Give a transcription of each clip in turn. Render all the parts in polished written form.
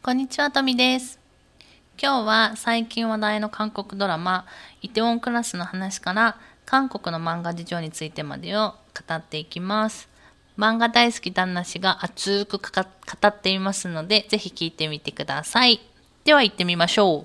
こんにちは、とみです。今日は最近話題の韓国ドラマ、イテウォンクラスの話から韓国の漫画事情についてまでを語っていきます。漫画大好き旦那氏が熱く語っていますので、ぜひ聞いてみてください。では行ってみましょう。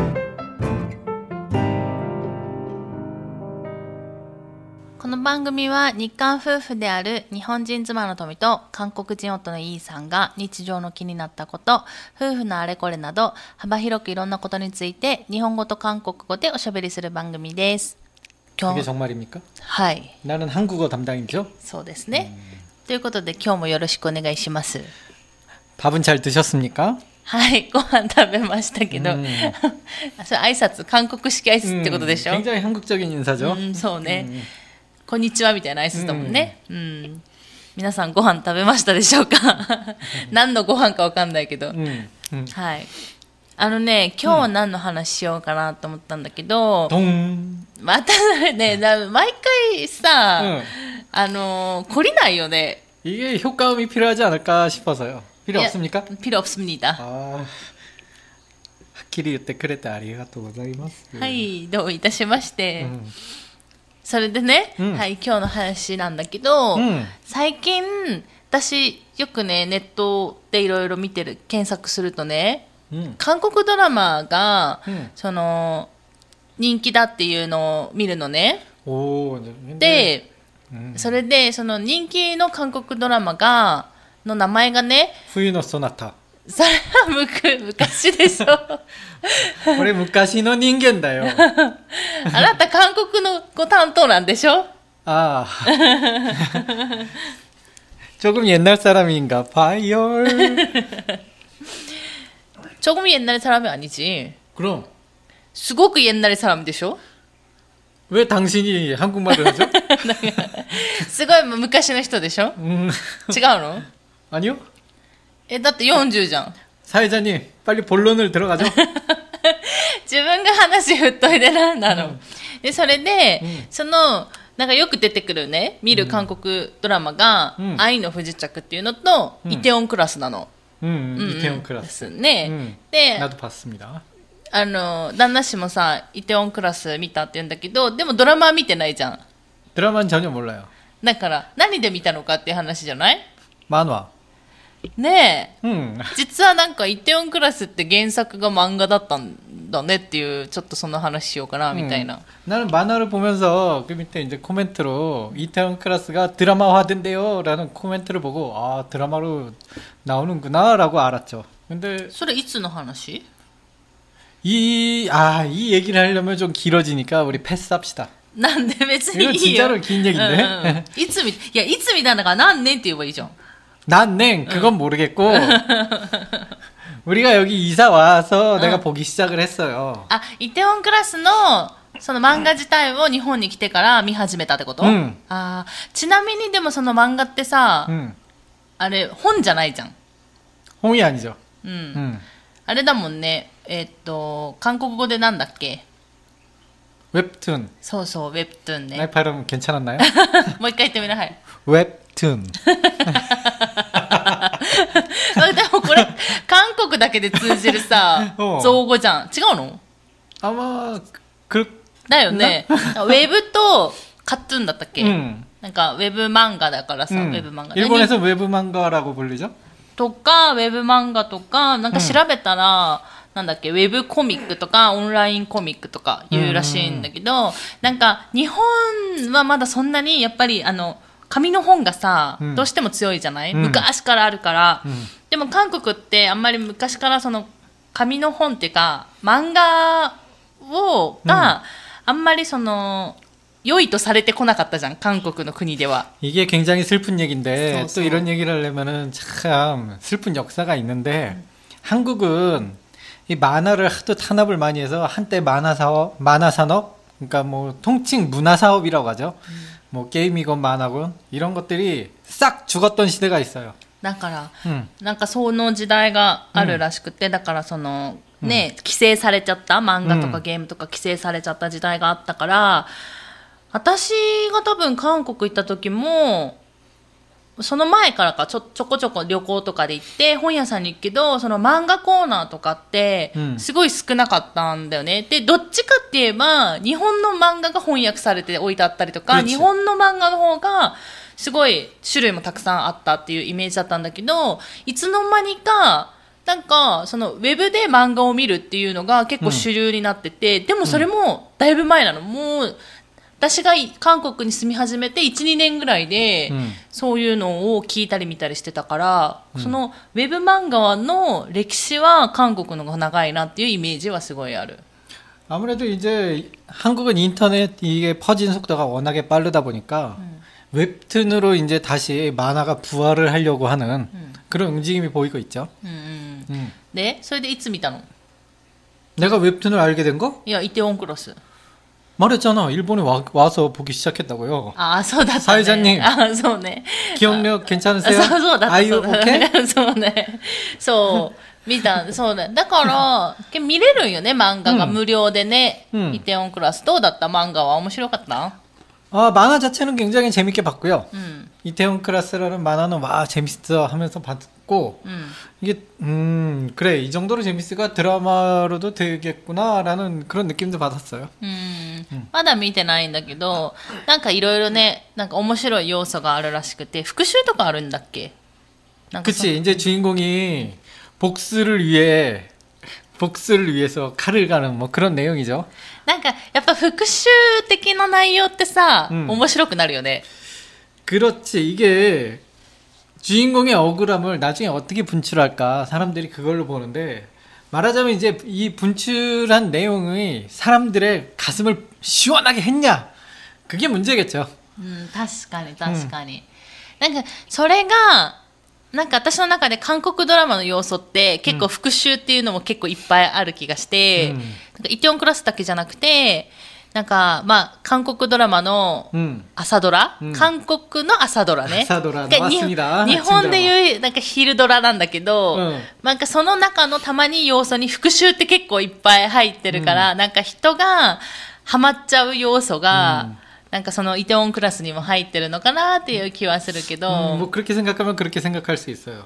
この番組は日韓夫婦である日本人妻の富と韓国人夫のイーさんが日常の気になったこと、夫婦のあれこれなど幅広くいろんなことについて日本語と韓国語でおしゃべりする番組です。 그게정말입니까 はい。 나는한국어담당이죠 そうですね。ということで今日もよろしくお願いします。 밥은잘드셨습니까 はい、ご飯食べましたけど、それ挨拶、韓国式挨拶ってことでしょ。 굉장히 한국적인 인사죠. そうね。こんにちはみたいな挨拶だもんね。皆さんご飯食べましたでしょうか何のご飯かわかんないけど。はい。今日は何の話しようかなと思ったんだけど、またね、毎回さ、懲りないよね。 이게 효과음이 필요하지 않을까 싶어서요. 필요 없습니까? 필요 없습니다. 확실히 그때 그랬다 아리가또 고자이마스. はい、どういたしまして。それでね、はい、今日の話なんだけど、最近、私、よくね、ネットでいろいろ検索するとね、韓国ドラマが、人気だっていうのを見るのね。で、それで、その人気の韓国ドラマの名前がね、 冬のソナタ。 それは昔でしょ。 これ昔の人間だよ。 あなた韓国のご担当なんでしょ。 ああ。조금 옛날 사람인가 봐요. 조금 옛날 사람이 아니지. 그럼. すごく옛날 사람でしょ。 왜 당신이 한국말을 하죠? すごい昔の人でしょ。違うの？ 아니요. だって40じゃん。 사회자님, 빨리 본론을 들어가죠. 自分が話振っといてなんだの。で、それで、なんかよく出てくるね、見る韓国ドラマが、愛の不時着っていうのと、イテウォンクラスなの。 イテウォンクラス。 ですね。で、 나도 봤습니다. 旦那氏もさ、イテウォンクラス見たって言うんだけど、でもドラマは見てないじゃん。 드라마는 전혀 몰라요. だから、何で見たのかっていう話じゃない？ 만화. ねえ、実はなんかイテウォンクラスって原作が漫画だったんだねっていう、ちょっとその話しようかなみたいな。 나는 만화를 보면서 그 밑에 이제 코멘트로 이태원 클래스가 드라마화된대요 라는 코멘트를 보고 아 드라마로 나오는구나 라고 알았죠. 근데 それいつの話？ 이 얘기를 하려면 좀 길어지니까 우리 패스합시다. なんで別にいいよ。 이거 진짜로 긴 얘기인데. いつ見たんだから何年って言えばいいじゃん。 난냉 그건 모르겠고 우리가 여기 이사 와서 내가 보기 시작을 했어요. イテウォンクラスのその漫画自体を日本に来てから見始めたってこと？ちなみにでもその漫画ってさ、あれ本じゃないじゃん。 홍이 아니죠. あれだもんね。韓国語でなんだっけ？ 웹툰. そうそう、ウェブトゥーンね。 나의 발음 괜찮았나요? もう一回言ってみな。はい。 웹툰. でもこれ韓国だけで通じるさ造語じゃん。違うの？ 아마 だよね。ウェブとカットゥーンだったっけ？なんかウェブ漫画だからさ、ウェブ漫画。 일본에서 웹漫画라고 불리죠? とかウェブ漫画とかなんか調べたら、なんだっけ、ウェブコミックとかオンラインコミックとか言うらしいんだけど、なんか日本はまだそんなにやっぱり紙の本がさ、どうしても強いじゃない？昔からあるから。でも韓国ってあんまり昔からその紙の本っていうか漫画があんまりその良いとされてこなかったじゃん、韓国の国では。 이게 굉장히 슬픈 얘기인데 또 이런 얘기를 하려면은 참 슬픈 역사가 있는데 한국은 이 만화를 하도 탄압을 많이 해서 한때 만화 산업 그러니까 뭐 통칭 문화 사업이라고 하죠. 뭐 게임이건 만화건 이런 것들이 싹 죽었던 시대가 있어요. だから、なんかその時代があるらしくて、だからそのね、規制されちゃった漫画とかゲームとか規制されちゃった時代があったから、私が多分韓国行った時もその前からかちょこちょこ旅行とかで行って本屋さんに行くけど、その漫画コーナーとかってすごい少なかったんだよね。で、どっちかって言えば日本の漫画が翻訳されて置いてあったりとか、日本の漫画の方がすごい種類もたくさんあったっていうイメージだったんだけど、いつの間にかなんかそのウェブで漫画を見るっていうのが結構主流になってて、でもそれもだいぶ前なの。もう私が韓国に住み始めて 1,2 年ぐらいで、そういうのを聞いたり見たりしてたから、そのウェブ漫画の歴史は韓国の方が長いなっていうイメージはすごいある。 아무래도 이제 한국은 인터넷 이게 퍼진 속도가 워낙에 빠르다 보니까 웹툰으로 이제 다시 만화가 부활을 하려고 하는 그런 움직임이 보이고 있죠. 네? それでいつ見たの? 내가 웹툰을 알게 된 거? いや、イテウォンクロス 말했잖아. 일본에 와서 보기 시작했다고요. 아, そうだったね. 사회자님. 아, そうね. 기억력 괜찮으세요? そうだった. Are you okay? そうね. そう。見た。そうね。だから、見れるんよね、漫画が無料でね。イテウォンクラス。どうだった漫画は面白かった? 만화 자체는 굉장히 재밌게 봤고요. 이태원 클라스라는 만화는 와 재밌어 하면서 봤고 이게 그래 이 정도로 재밌으니까 드라마로도 되겠구나라는 그런 느낌도 받았어요. まだ見てないんだけど、なんかいろいろね、なんか面白い要素があるらしくて、復讐とかあるんだっけ? 그치. 이제 주인공이 복수를 위해서 칼을 가는 뭐 그런 내용이죠. なんかやっぱ復讐的な内容ってさ、面白くなるよね. 그렇지. 이게 주인공의 억울함을 나중에 어떻게 분출할까 사람들이 그걸로 보는데, 말하자면 이제 이 분출한 내용이 사람들의 가슴을 시원하게 했냐, 그게 문제겠죠. 確かに確かに。なんかそれがなんか私の中で韓国ドラマの要素って結構復讐っていうのも結構いっぱいある気がして、なんかイテウォンクラスだけじゃなくて、なんかまあ韓国ドラマの朝ドラ、韓国の朝ドラね。 朝ドラ맞습니다。 日本でいうなんか昼ドラなんだけど、なんかその中のたまに要素に復讐って結構いっぱい入ってるから、なんか人がハマっちゃう要素が、なんかそのイテウォンクラスにも入ってるのかなっていう気はするけど。 뭐 그렇게 생각하면 그렇게 생각할 수 있어요.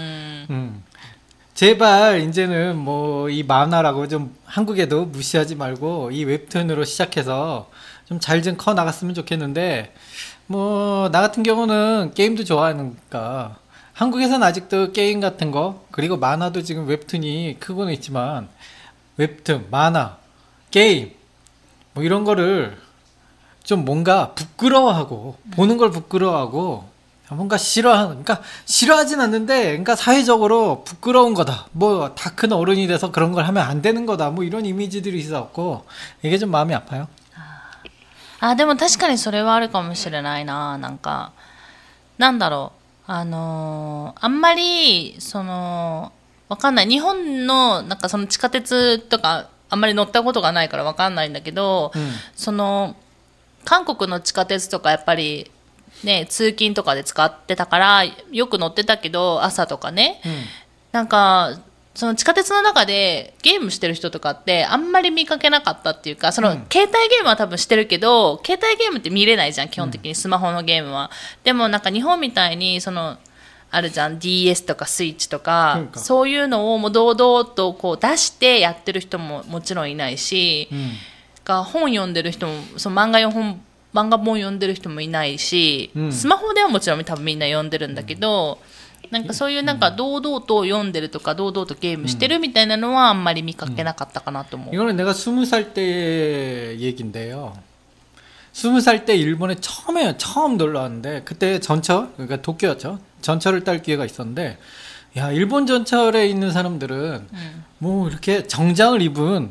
제발 이제는 뭐 이 만화라고 좀 한국에도 무시하지 말고 이 웹툰으로 시작해서 좀 잘 좀 커 나갔으면 좋겠는데, 뭐 나 같은 경우는 게임도 좋아하니까 한국에서는 아직도 게임 같은 거, 그리고 만화도 지금 웹툰이 크고는 있지만 웹툰, 만화, 게임 뭐 이런 거를 좀 뭔가 부끄러워하고, 보는 걸 부끄러워하고, 뭔가 그러니까 싫어하진 않는데, 그러니까 사회적으로 부끄러운 거다. 뭐 다 큰 어른이 돼서 그런 걸 하면 안 되는 거다. 뭐 이런 이미지들이 있었고, 이게 좀 마음이 아파요. でも確かにそれはあるかもしれないな。なんかなんだろう、あんまりわかんない。日本のなんかその地下鉄とかあんまり乗ったことがないからわかんないんだけど、韓国の地下鉄とかやっぱりね、通勤とかで使ってたからよく乗ってたけど、朝とかね、なんかその地下鉄の中でゲームしてる人とかってあんまり見かけなかったっていうか、その携帯ゲームは多分してるけど、携帯ゲームって見れないじゃん、基本的にスマホのゲームは。でもなんか日本みたいにあるじゃん、 DS とかスイッチとか、そういうのをもう堂々とこう出してやってる人ももちろんいないし、本読んでる人も、漫画本読んでる人もいないし、スマホではもちろん多分みんな読んでるんだけど、なんかそういうなんか堂々と読んでるとか堂々とゲームしてるみたいなのはあんまり見かけなかったかなと思う。 이거는 내가 20살 때 얘기인데요. 20살 때 일본에 처음 놀러 왔는데, 그때 전철, 그러니까 도쿄였죠. 전철을 탈 기회가 있었는데, 야, 일본 전철에 있는 사람들은 뭐 이렇게 정장을 입은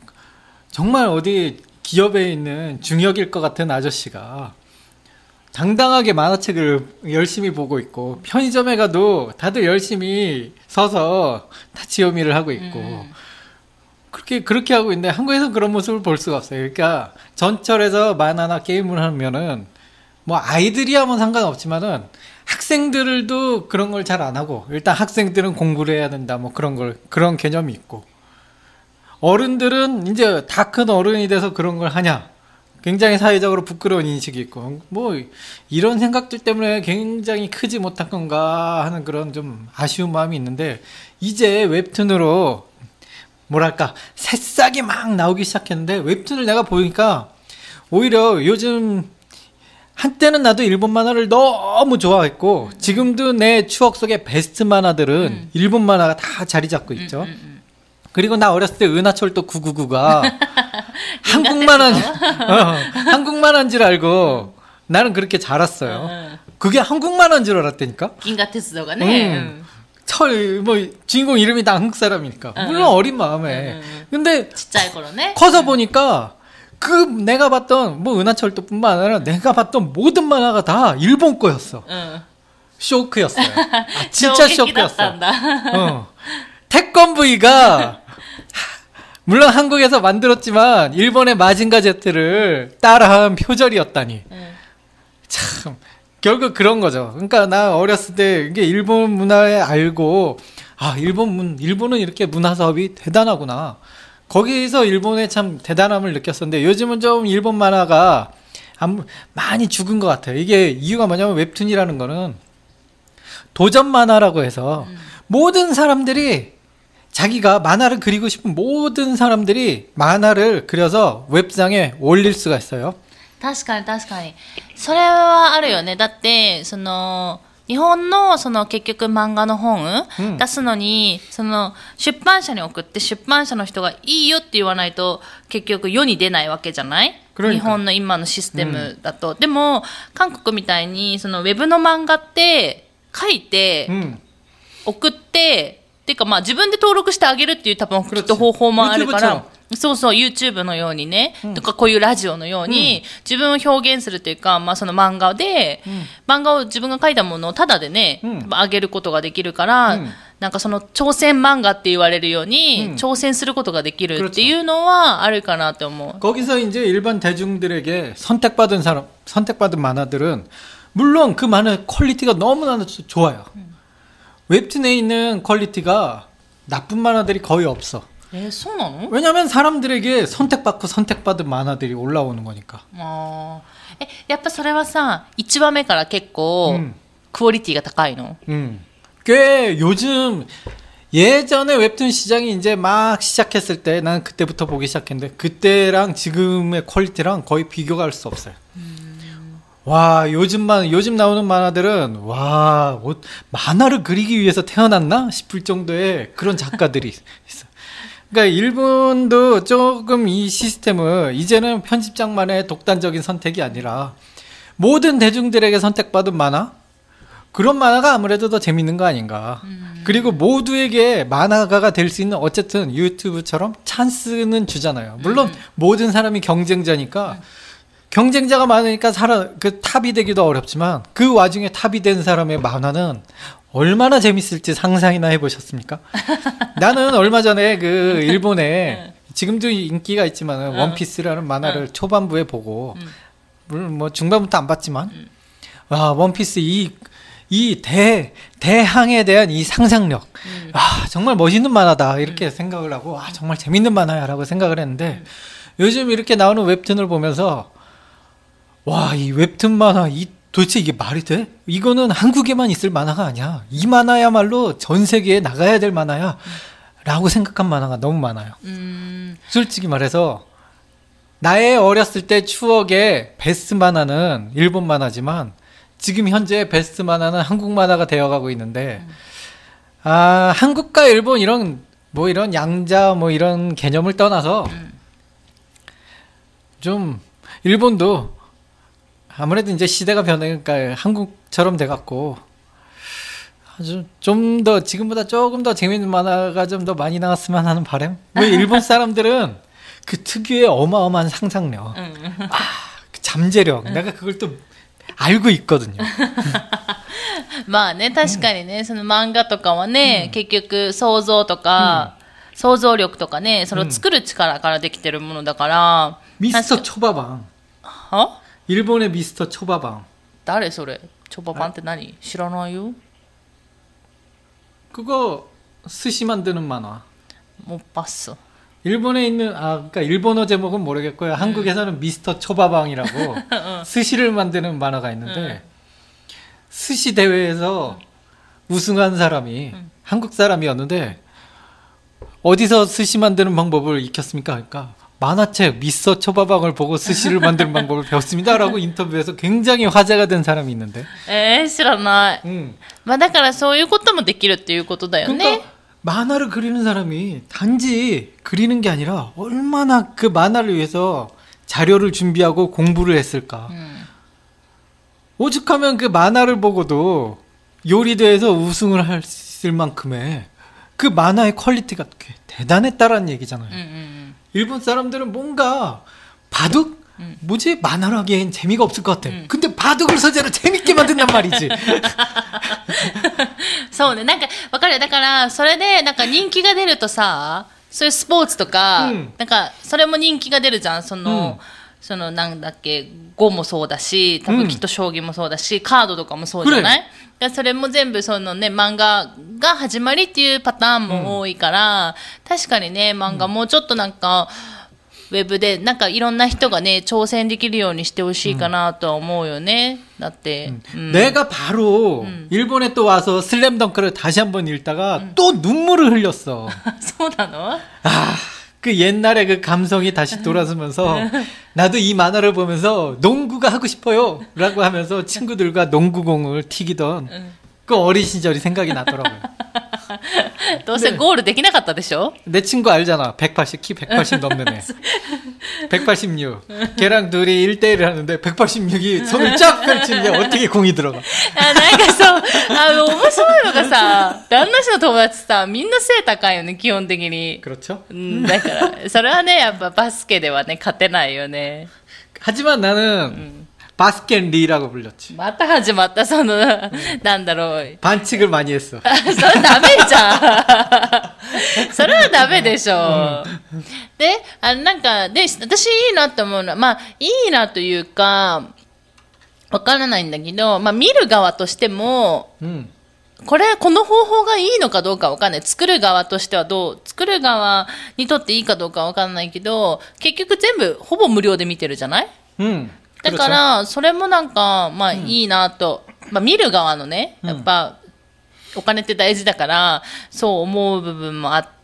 정말 어디 기업에 있는 중역일 것 같은 아저씨가 당당하게 만화책을 열심히 보고 있고, 편의점에 가도 다들 열심히 서서 타치요미를 하고 있고, 그렇게 하고 있는데 한국에서는 그런 모습을 볼 수가 없어요. 그러니까 전철에서 만화나 게임을 하면은 뭐 아이들이야 뭐 상관없지만은 학생들도 그런 걸 잘 안 하고, 일단 학생들은 공부를 해야 된다 뭐 그런 개념이 있고, 어른들은 이제 다 큰 어른이 돼서 그런 걸 하냐, 굉장히 사회적으로 부끄러운 인식이 있고 뭐 이런 생각들 때문에 굉장히 크지 못한 건가 하는 그런 좀 아쉬운 마음이 있는데 이제 웹툰으로 뭐랄까 새싹이 막 나오기 시작했는데 웹툰을 내가 보니까 오히려 요즘 한때는 나도 일본 만화를 너무 좋아했고 지금도 내 추억 속의 베스트 만화들은 일본 만화가 다 자리 잡고 있죠. 그리고 나 어렸을 때 은하철도 999가 한국 만화 한국 만화인 줄 알고 나는 그렇게 자랐어요. 그게 한국 만화인 줄 알았다니까. 긴가鉄道がね. 뭐 주인공 이름이 다 한국 사람이니까 물론 어린 마음에 근데 커서 보니까 그 내가 봤던 뭐 은하철도뿐만 아니라 내가 봤던 모든 만화가 다 일본 거였어. 쇼크였어요. 아, 진짜 쇼크였어. 태권브이가 물론 한국에서 만들었지만 일본의 마징가 제트를 따라한 표절이었다니. 참 결국 그런 거죠. 그러니까 나 어렸을 때 이게 일본 문화에 알고 아 일본은 이렇게 문화 사업이 대단하구나. 거기서 일본의 참 대단함을 느꼈었는데 요즘은 좀 일본 만화가 많이 죽은 것 같아요. 이게 이유가 뭐냐면 웹툰이라는 거는 도전 만화라고 해서 모든 사람들이 자기가 만화를 그리고 싶은 모든 사람들이 만화를 그려서 웹상에 올릴 수가 있어요. 確かに確かに。それはあるよね。だって、日本の結局漫画の本出すのに、出版社に送って出版社の人がいいよって言わないと結局世に出ないわけじゃない？日本の今のシステムだと。でも、韓国みたいにウェブの漫画って書いて、送って、っていうかまあ自分で登録してあげるっていう多分きっと方法もあるから、そうそう、YouTube のようにね、とかこういうラジオのように、自分を表現するというか、まあその漫画で、漫画を自分が書いたものをタダでね、あげることができるから、なんか挑戦漫画って言われるように、挑戦することができるっていうのはあるかなと思う。 거기서 이제 일반 대중들에게 선택받은 만화들은 물론 그 만화의 퀄리티가 너무나 좋아요. 웹툰에 있는 퀄리티가 나쁜 만화들이 거의 없어. 왜냐면 사람들에게 선택받은 만화들이 올라오는 거니까. やっぱそれはさ、1話目から結構クオリティが高いの? 꽤 요즘 예전에 웹툰 시장이 이제 막 시작했을 때 난 그때부터 보기 시작했는데 그때랑 지금의 퀄리티랑 거의 비교가 할 수 없어요. 와, 요즘 나오는 만화들은, 와, 만화를 그리기 위해서 태어났나? 싶을 정도의 그런 작가들이 있어. 그러니까 일본도 조금 이 시스템을 이제는 편집장만의 독단적인 선택이 아니라 모든 대중들에게 선택받은 만화? 그런 만화가 아무래도 더 재밌는 거 아닌가. 그리고 모두에게 만화가가 될 수 있는 어쨌든 유튜브처럼 찬스는 주잖아요. 물론 모든 사람이 경쟁자니까 경쟁자가 많으니까 탑이 되기도 어렵지만 그 와중에 탑이 된 사람의 만화는 얼마나 재밌을지 상상이나 해보셨습니까? 나는 얼마 전에 그 일본에 지금도 인기가 있지만 원피스라는 만화를 초반부에 보고 물론 뭐 중반부터 안 봤지만 와 원피스 이 대항에 대한 이 상상력 정말 멋있는 만화다 이렇게 생각을 하고 정말 재밌는 만화야라고 생각을 했는데 요즘 이렇게 나오는 웹툰을 보면서 와, 이 웹툰 만화, 도대체 이게 말이 돼? 이거는 한국에만 있을 만화가 아니야. 이 만화야말로 전 세계에 나가야 될 만화야. 라고 생각한 만화가 너무 많아요. 솔직히 말해서, 나의 어렸을 때 추억의 베스트 만화는 일본 만화지만, 지금 현재 베스트 만화는 한국 만화가 되어가고 있는데, 한국과 일본 이런 양자, 이런 개념을 떠나서, 좀, 일본도, 아무래도 이제 시대가 변하니까 한국처럼 돼갖고 아주 좀 더 지금보다 조금 더 재밌는 만화가 좀 더 많이 나왔으면 하는 바람. 왜 일본 사람들은 그 특유의 어마어마한 상상력, 그 잠재력, 내가 그걸 또 알고 있거든요. まあね、確かにね、その漫画とかはね、結局想像とか、想像力とかね、それを作る力からできてるものだから。 미스터 초밥왕. 일본의 미스터 초밥왕. 誰それ? 초밥왕って何? 知らないよ. 그거 스시 만드는 만화. 못 봤어. 일본에 있는 그러니까 일본어 제목은 모르겠고요. 한국에서는 미스터 초밥왕이라고 스시를 만드는 만화가 있는데 스시 대회에서 우승한 사람이 한국 사람이었는데 어디서 스시 만드는 방법을 익혔습니까? 그러니까 만화책 미스터 초밥왕을 보고 스시를 만드는 방법을 배웠습니다라고 인터뷰에서 굉장히 화제가 된 사람이 있는데. 知らない。まあだからそういうこともできるっていうことだよね。 그러니까 만화를 그리는 사람이 단지 그리는 게 아니라 얼마나 그 만화를 위해서 자료를 준비하고 공부를 했을까. 오죽하면 그 만화를 보고도 요리대회에서 우승을 했을 만큼의 그 만화의 퀄리티가 대단했다라는 얘기잖아요. 일본 사람들은 뭔가 바둑? 뭐지? 만화로 하기엔 재미가 없을 것 같아. 근데 바둑을 소재로 재밌게 만든단 말이지. そうね、なんか、わかる。だから、それで、なんか人気が出るとさ、そういうスポーツとか、なんか、それも人気が出るじゃん。その、なんだっけ、碁もそうだし、多分きっと将棋もそうだし、カードとかもそうじゃない？だそれも全部そのね、漫画が始まりっていうパターンも多いから、確かにね、漫画もうちょっとなんか、ウェブでなんかいろんな人がね挑戦できるようにしてほしいかなとは思うよね。だって、 내가 바로 일본에 또 와서 슬램덩크를 다시 한번 읽다가 또 눈물을 흘렸어. そうなの？ 그 옛날에 그 감성이 다시 돌아서면서 나도 이 만화를 보면서 농구가 하고 싶어요 라고 하면서 친구들과 농구공을 튀기던 그 어린 시절이 생각이 나더라고요. どうせゴールできなかったでしょ? 내 친구 알잖아. 180, 키 180 넘는 애. 186. 걔랑 둘이 1대1을 하는데 186이 손을 쫙 펼치는데 어떻게 공이 들어가. なんかそう、面白いのがさ、旦那氏の友達さ、みんな背高いよね、基本的に。 그렇죠? だから、それはね、やっぱバスケではね、勝てないよね。 하지만 나는 바스켓리라고 불렸지. また始まった、その、なんだろう。 반칙을 많이 했어. それダメじゃん。それはダメでしょ。で、なんか、で、私いいなと思うのは、まあ、いいなというか、わからないんだけど、まあ、見る側としても、この方法がいいのかどうかわかんない。作る側としては作る側にとっていいかどうかわかんないけど、結局全部ほぼ無料で見てるじゃない？だから、それもなんか、まあいいなと、まあ見る側のね、やっぱ、お金って大事だから、そう思う部分もあって、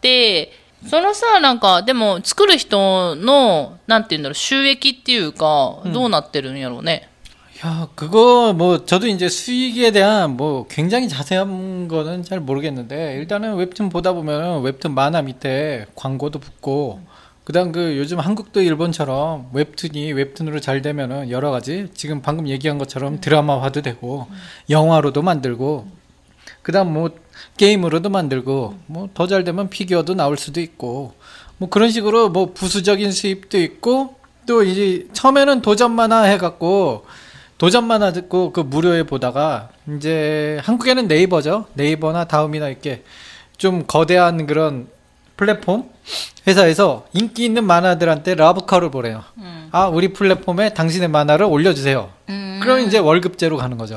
そのさ、なんか、でも作る人の、なんていうんだろう、収益っていうか、どうなってるんやろうね。 야, 그거 뭐 저도 이제 수익에 대한 뭐 굉장히 자세한 거는 잘 모르겠는데 일단은 웹툰 보다 보면 웹툰 만화 밑에 광고도 붙고 그다음 그 요즘 한국도 일본처럼 웹툰이 웹툰으로 잘 되면은 여러 가지 지금 방금 얘기한 것처럼 드라마화도 되고 영화로도 만들고 그다음 뭐 게임으로도 만들고 뭐 더 잘 되면 피규어도 나올 수도 있고 뭐 그런 식으로 뭐 부수적인 수입도 있고 또 이제 처음에는 도전 만화 해갖고 도전 만화 듣고 그 무료에 보다가 이제 한국에는 네이버죠. 네이버나 다음이나 이렇게 좀 거대한 그런 플랫폼 회사에서 인기 있는 만화들한테 러브콜을 보내요. 아, 우리 플랫폼에 당신의 만화를 올려주세요. 그럼 이제 월급제로 가는 거죠.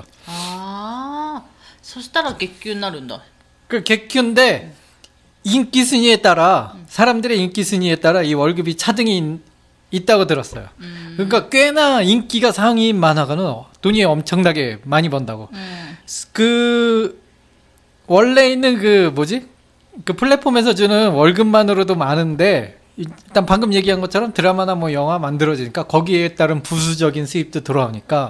아, そしたら月給になるんだ. 그 객큐인데 인기 순위에 따라 사람들의 인기 순위에 따라 이 월급이 차등이 있다고 들었어요. 그러니까 꽤나 인기가 상위인 만화가는 돈이 엄청나게 많이 번다고. 그 원래 있는 그 뭐지? 그 플랫폼에서 주는 월급만으로도 많은데 일단 방금 얘기한 것처럼 드라마나 뭐 영화 만들어지니까 거기에 따른 부수적인 수입도 들어오니까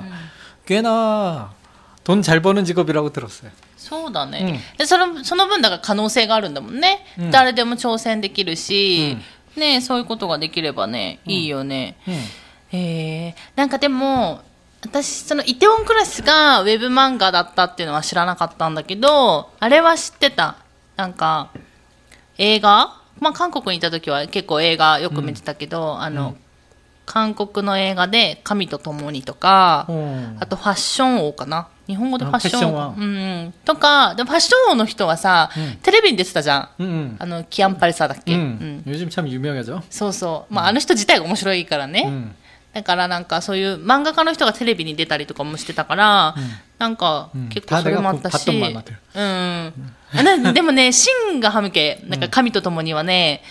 꽤나 돈 잘 버는 직업이라고 들었어요. そうだね。その分だから可能性があるんだもんね。誰でも挑戦できるし、ね、そういうことができればね、いいよね。なんかでも、私、そのイテウォンクラスがウェブ漫画だったっていうのは知らなかったんだけど、あれは知ってた。なんか、映画まあ韓国にいた時は結構映画よく見てたけど、韓国の映画で神と共にとか、あとファッション王かな。日本語でファッション王。とか、でもファッション王の人はさ、テレビに出てたじゃん。キアンパレサだっけ。 요즘 참 유명하죠. そうそう。まああの人自体が面白いからね。だからなんかそういう漫画家の人がテレビに出たりとかもしてたから、なんか結構それもあったし。でもね、シンがハムケ、なんか神と共にはね、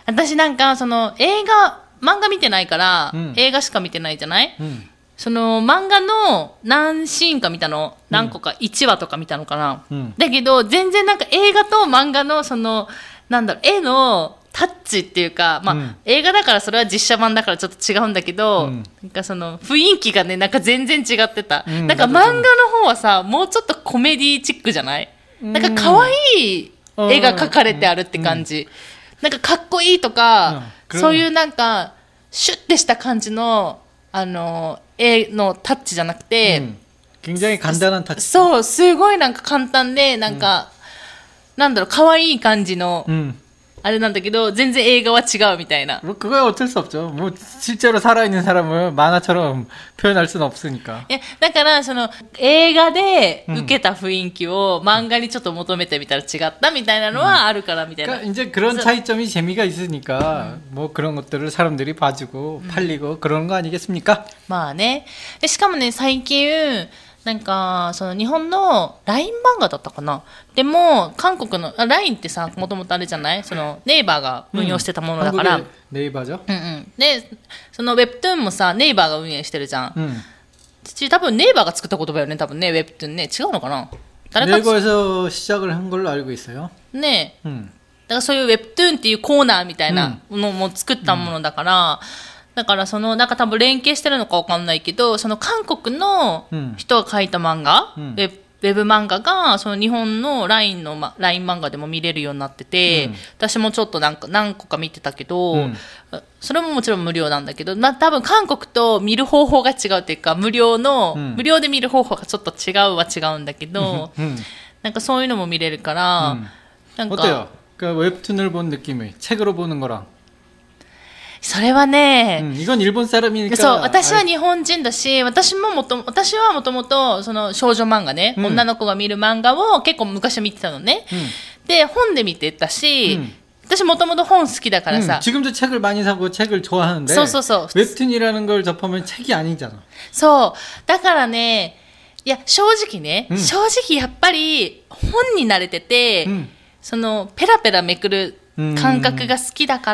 私なんか、漫画見てないから、 うん映画しか見てないじゃない、 음. その漫画の何シーンか見たの、何個か、1話とか見たのかな、だけど全然なんか映画と漫画の絵のタッチっていうか、映画だからそれは実写版だからちょっと違うんだけど、なんかその雰囲気がね、なんか全然違ってた、なんか漫画の方はさ、もうちょっとコメディチックじゃない、なんか可愛い絵が描かれてあるって感じ、なんかかっこいいとか、そういうなんかシュッてした感じの絵のタッチじゃなくて、 굉장히 간단한 타치. そう、すごいなんか簡単で、なんか、なんだろう、可愛い感じの、あれなんだけど、全然映画は違うみたいな。 뭐 그거야 어쩔 수 없죠. 뭐 실제로 살아있는 사람을 만화처럼 표현할 수는 없으니까. だから、映画で受けた雰囲気を漫画にちょっと求めてみたら違ったみたいなのはあるからみたいな。 그러니까 이제 그런 차이점이 재미가 있으니까 뭐 그런 것들을 사람들이 봐주고 팔리고 그런 거 아니겠습니까? まあね。でしかもね、最近、なんか、日本の LINE 漫画だったかな。でも、韓国の、LINE ってさ、もともとあれじゃない？ネイバーが運用してたものだから。 ネイバーじゃ？ で、ウェブトゥーンもさ、ネイバーが運営してるじゃん。多分ネイバーが作った言葉よね、多分ね、ウェブトゥーンね。違うのかな？誰か。 네이버에서 시작을 한 걸로 알고 있어요. ねえ。だからそういうウェブトゥーンっていうコーナーみたいなのも作ったものだから、だからなんか多分連携してるのかわかんないけど、韓国の人が書いた漫画、ウェブ漫画が、日本の LINE 漫画でも見れるようになってて、私もちょっとなんか何個か見てたけど、それももちろん無料なんだけど、多分韓国と見る方法が違うっていうか、無料で見る方法がちょっと違うんだけど、なんかそういうのも見れるから、なんか。 어때요? 그러니까 웹툰을 본 느낌이 책으로 보는 거랑. それはね、 이건 일본 사람이니까. そう、私は日本人だし、私はもともと少女漫画ね、女の子が見る漫画を結構昔見てたのね。で、本で見てたし、私もともと本好きだからさ。 지금도 책을 많이 사고 책을 좋아하는데. そうそうそう。 웹툰이라는 걸 접하면 책이 아니잖아. そう。だからね、いや、正直やっぱり本に慣れてて、ペラペラめくる感覚が好きだから、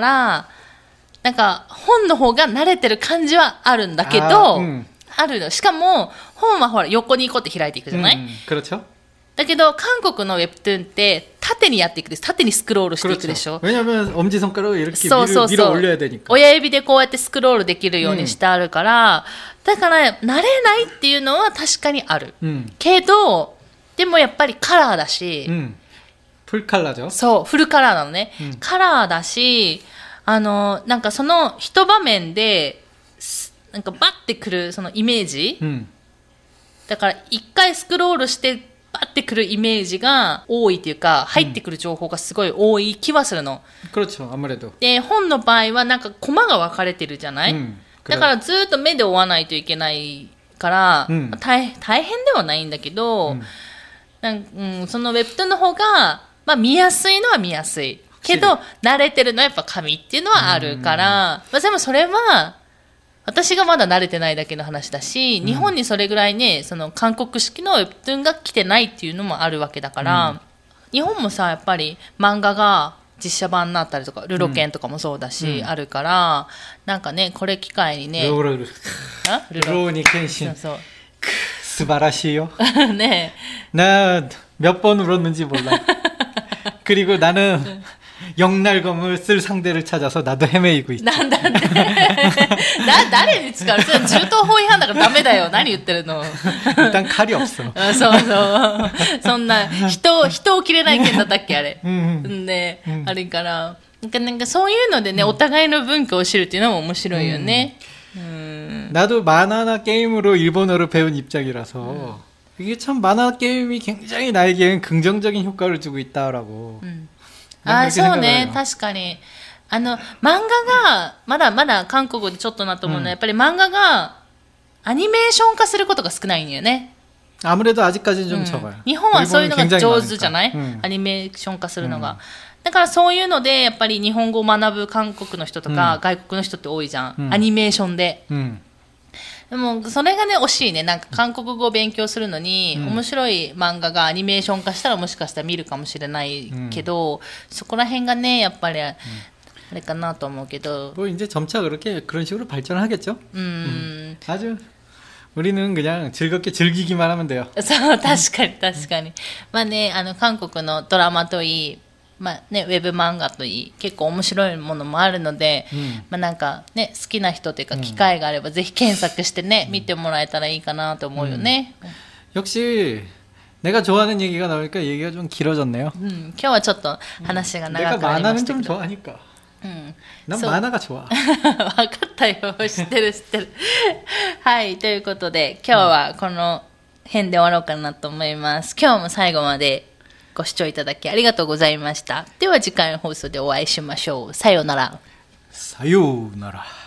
なんか本の方が慣れてる感じはあるんだけど、あるの。しかも本はほら横にこうって開いていくじゃない？ 그렇죠. だけど韓国のウェブトゥーンって縦にやっていくです。縦にスクロールしていくでしょ。 왜냐면 엄지손가락을 이렇게 そうそうそう。 밀어 올려야 되니까. 親指でこうやってスクロールできるようにしてあるから、だから慣れないっていうのは確かにある。けどでもやっぱりカラーだし、 フルカラーじゃん。 そう、フルカラーなのね。カラーだし、なんかその一場面で、なんかバッてくるそのイメージ、だから一回スクロールしてバッてくるイメージが多いっていうか、入ってくる情報がすごい多い気はするの。 그렇죠. 아무래도. で、 本の場合はなんかコマが分かれてるじゃない？だからずっと目で追わないといけないから、大変ではないんだけど、そのウェブトゥーンの方が、見やすいのは見やすい。けど、慣れてるのはやっぱ紙っていうのはあるから、でもそれは、私がまだ慣れてないだけの話だし、日本にそれぐらいね、韓国式のウェブトゥーンが来てないっていうのもあるわけだから、日本もさ、やっぱり漫画が実写版になったりとか、ルロケンとかもそうだし、あるから、なんかね、これ機会にね、 ルローに献身。そう。素晴らしいよ。 ね。 나 몇 번 울었는지 몰라. 그리고 나는 영날검을 쓸 상대를 찾아서 나도 헤매이고 있지. なんだね。誰に使う？それ銃刀法違反だからダメだよ。何言ってるの。 일단 칼이 없어. そうそう。そんな人を切れない剣だったっけあれ。ね、あれから。なんかそういうのでね、お互いの文化を知るっていうのも面白いよね。 나도 만화나 게임으로 일본어를 배운 입장이라서 이게 참 만화 게임이 굉장히 나에겐 긍정적인 효과를 주고 있다라고. そうね、確かに。漫画が、まだ韓国でちょっとなと思うのは、やっぱり漫画がアニメーション化することが少ないんだよね。 아무래도 아직까지는 좀 적어요. 日本はそういうのが上手じゃない？アニメーション化するのが。だからそういうので、やっぱり日本語を学ぶ韓国の人とか、外国の人って多いじゃん。アニメーションで。でも、それがね、惜しいね。なんか韓国語を勉強するのに、面白い漫画がアニメーション化したらもしかしたら見るかもしれないけど、そこら辺がね、やっぱり、 あれかなと思うけど。 뭐 이제 점차 그런 식으로 발전하겠죠. 아주 우리는 그냥 즐겁게 즐기기만 하면 돼요. そう、確かに確かに。まあね、韓国のドラマといい、まあね、ウェブ漫画といい、結構面白いものもあるので、まあなんかね、好きな人というか機会があればぜひ検索してね、見てもらえたらいいかなと思うよね。 역시 내가 좋아하는 얘기가 나오니까 얘기가 좀 길어졌네요. 今日はちょっと話が 내가 長くなりま 만화는 した 좀 けど。 좋아하니까. そ 난 う 만화가 좋아. 分かったよ。知ってる知ってる。はい。ということで、今日はこの辺で終わろうかなと思います。今日も最後までご視聴いただきありがとうございました。では次回の放送でお会いしましょう。さようなら。 사요나라.